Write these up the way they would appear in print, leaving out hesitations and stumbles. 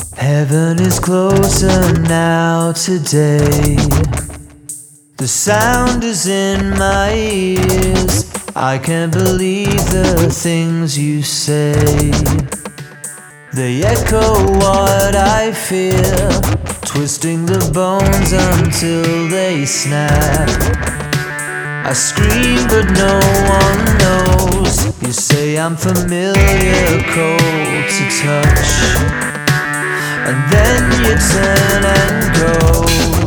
Heaven is closer now today. The sound is in my ears. I can't believe the things you say. They echo what I fear, twisting the bones until they snap. I scream but no one knows. You say I'm familiar, cold to touch, and then you turn and go.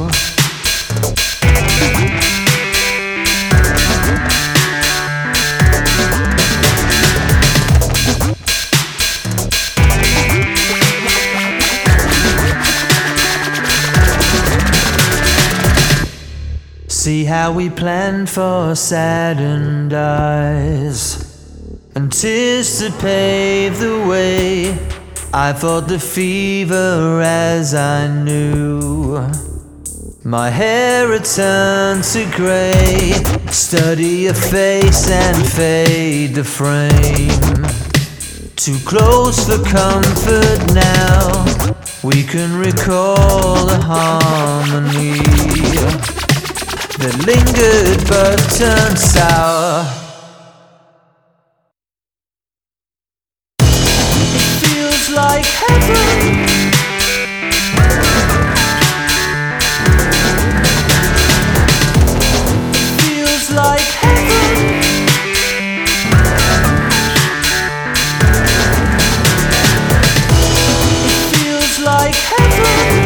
See how we planned for saddened eyes and tears to pave the way. I fought the fever as I knew. My hair returned to grey. Study your face and fade the frame. Too close for comfort now. We can recall the harmony that lingered but turned sour. It feels like heaven. It feels like heaven. It feels like heaven.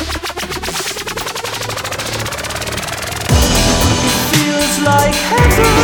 It feels like heaven.